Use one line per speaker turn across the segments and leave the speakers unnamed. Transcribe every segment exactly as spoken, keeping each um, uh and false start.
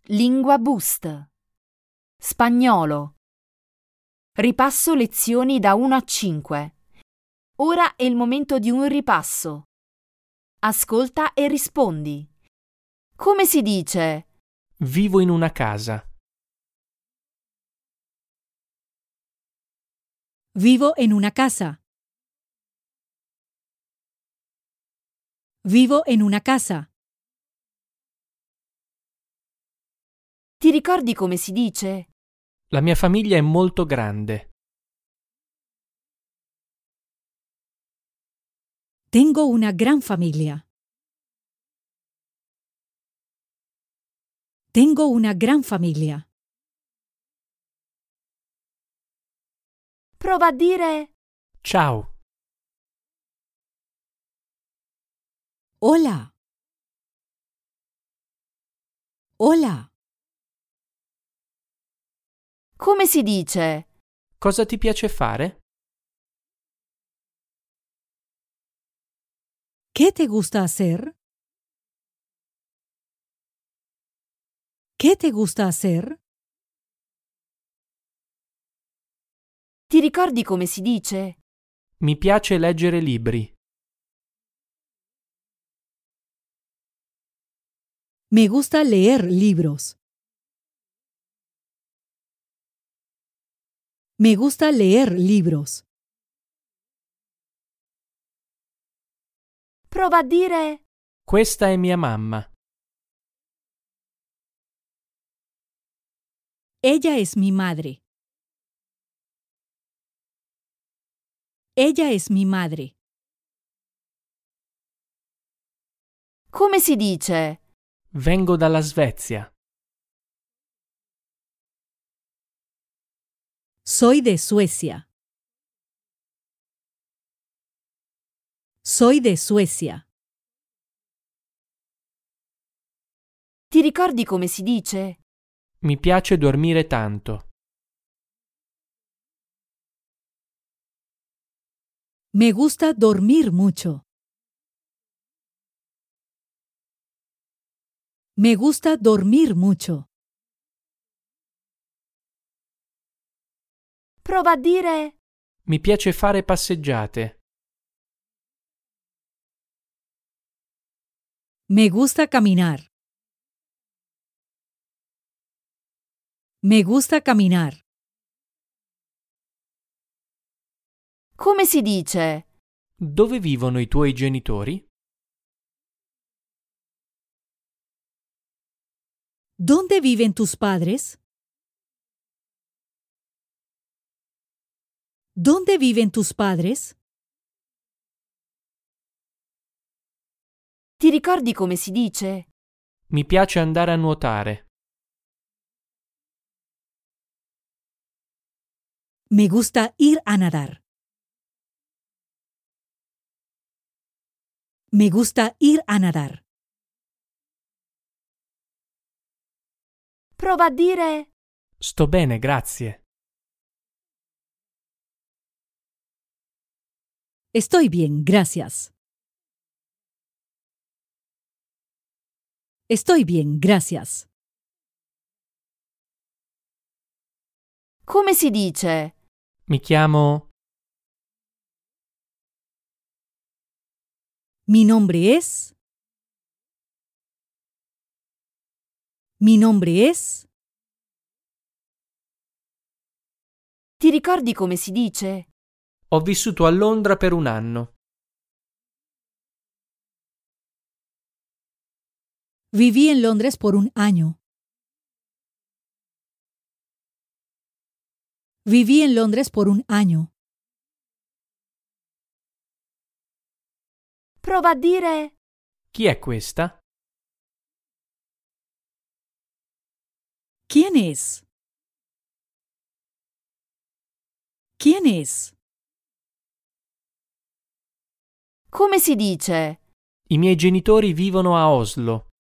Lingua Boost. Spagnolo. Ripasso lezioni da uno a cinque. Ora è il momento di un ripasso. Ascolta e rispondi. Come si dice?
Vivo in una casa.
Vivo en una casa. Vivo en una casa.
Ti ricordi come si dice?
La mia famiglia è molto grande.
Tengo una gran familia. Tengo una gran familia.
Prova a dire
Ciao.
Hola. Hola.
come si dice?
Cosa ti piace fare?
¿Qué te gusta hacer? ¿Qué te gusta hacer?
Ti ricordi come si dice?
Mi piace leggere libri.
Me gusta leer libros. Me gusta leer libros.
Prova a dire
Questa è mia mamma.
Ella es mi madre. Ella es mi madre.
come si dice?
Vengo dalla Svezia.
Soy de Suecia. Soy de Suecia.
Ti ricordi come si dice?
Mi piace dormire tanto.
Me gusta dormir mucho. Me gusta dormir mucho.
Prova a dire
Mi piace fare passeggiate.
Me gusta caminar. Me gusta caminar.
come si dice?
Dove vivono i tuoi genitori?
¿Dónde viven tus padres? ¿Dónde viven tus padres?
Ti ricordi come si dice?
Mi piace andare a nuotare.
Me gusta ir a nadar. Me gusta ir a nadar.
Prova a dire
Sto bene, grazie.
Estoy bien, gracias. Estoy bien, gracias.
come si dice?
Mi chiamo...
Mi nombre es... Mi nombre es...
Ti ricordi come si dice?
Ho vissuto a Londra per un anno.
Viví en Londres por un año. Viví en Londres por un año.
Prova a dire
Chi è questa?
¿Quién es? ¿Quién es?
come si dice?
I miei genitori vivono a Oslo.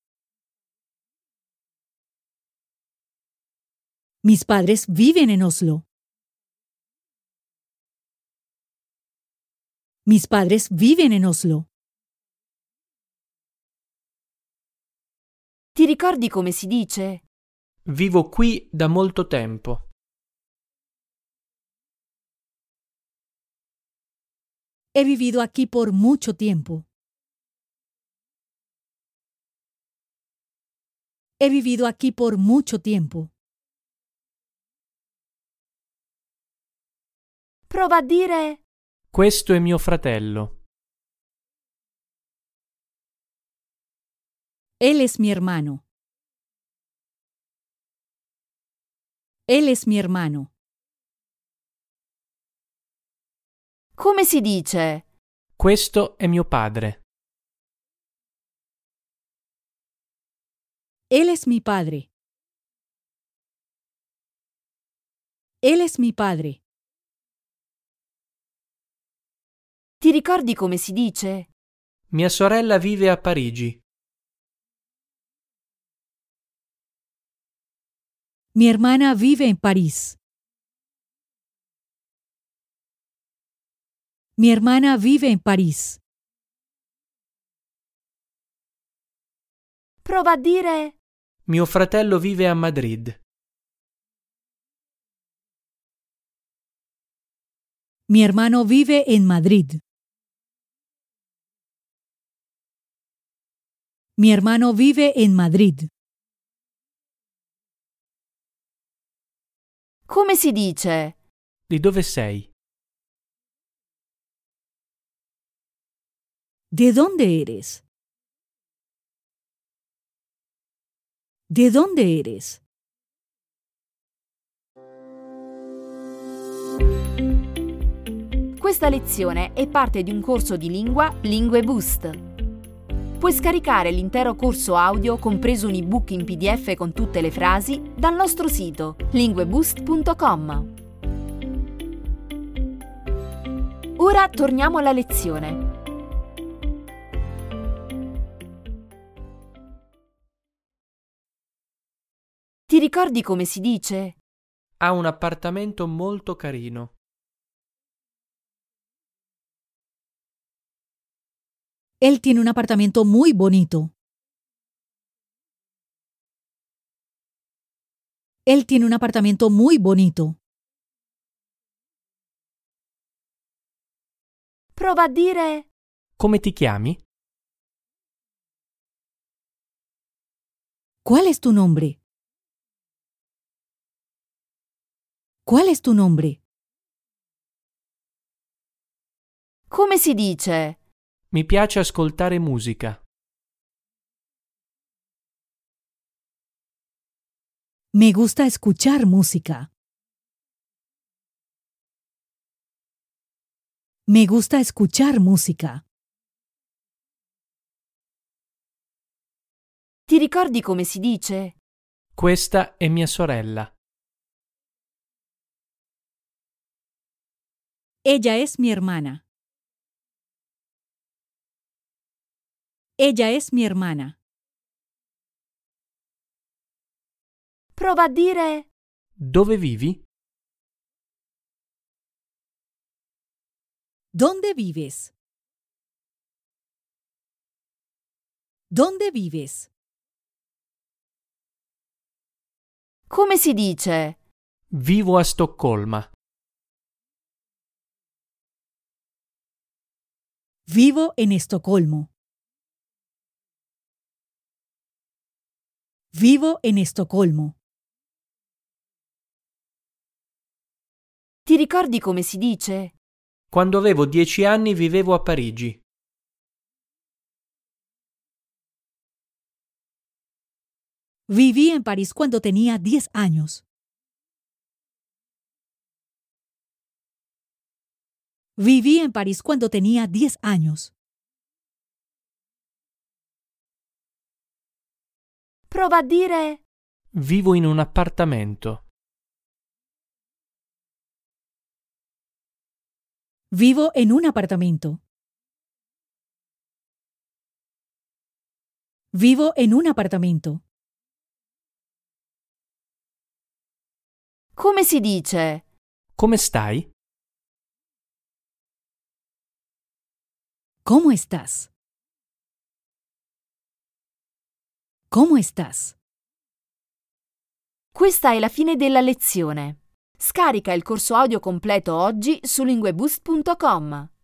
Mis padres viven en Oslo. Mis padres viven en Oslo.
Ti ricordi come si dice?
Vivo qui da molto tempo.
He vivido aquí por mucho tiempo. He vivido aquí por mucho tiempo.
Prova a dire
Questo è mio fratello.
Él es mi hermano. Él es mi hermano.
come si dice?
Questo è mio padre.
Él es mi padre. Él es mi padre.
Ti ricordi come si dice?
Mia sorella vive a Parigi.
Mi hermana vive en París. Mi hermana vive en París.
Prova a dire
Mio fratello vive a Madrid.
Mi hermano vive en Madrid. Mi hermano vive en Madrid.
come si dice?
Di dove sei?
¿De dónde eres? ¿De dónde eres?
Questa lezione è parte di un corso di lingua Lingue Boost. Puoi scaricare l'intero corso audio, compreso un ebook in P D F con tutte le frasi, dal nostro sito lingueboost punto com. Ora torniamo alla lezione. Ti ricordi come si dice?
Ha un appartamento molto carino.
Él tiene un apartamento muy bonito. Él tiene un apartamento muy bonito.
Prova a dire
Come ti chiami?
¿Cuál es tu nombre? ¿Cuál es tu nombre?
come si dice?
Mi piace ascoltare musica.
Me gusta escuchar música. Me gusta escuchar música.
Ti ricordi come si dice?
Questa è mia sorella.
Ella es mi hermana. Ella es mi hermana.
Prova a dire
Dove vivi?
¿Dónde vives? ¿Dónde vives?
come si dice?
Vivo a Stoccolma.
Vivo en Estocolmo. Vivo en Estocolmo.
Ti ricordi come si dice?
Quando avevo dieci anni vivevo a Parigi.
Viví en París cuando tenía diez años. Viví en París cuando tenía diez años.
Prova a dire
Vivo in un appartamento.
Vivo en un apartamento. Vivo en un apartamento.
come si dice?
Come stai?
¿Cómo estás? ¿Cómo estás?
Questa è la fine della lezione. Scarica il corso audio completo oggi su lingueboost punto com.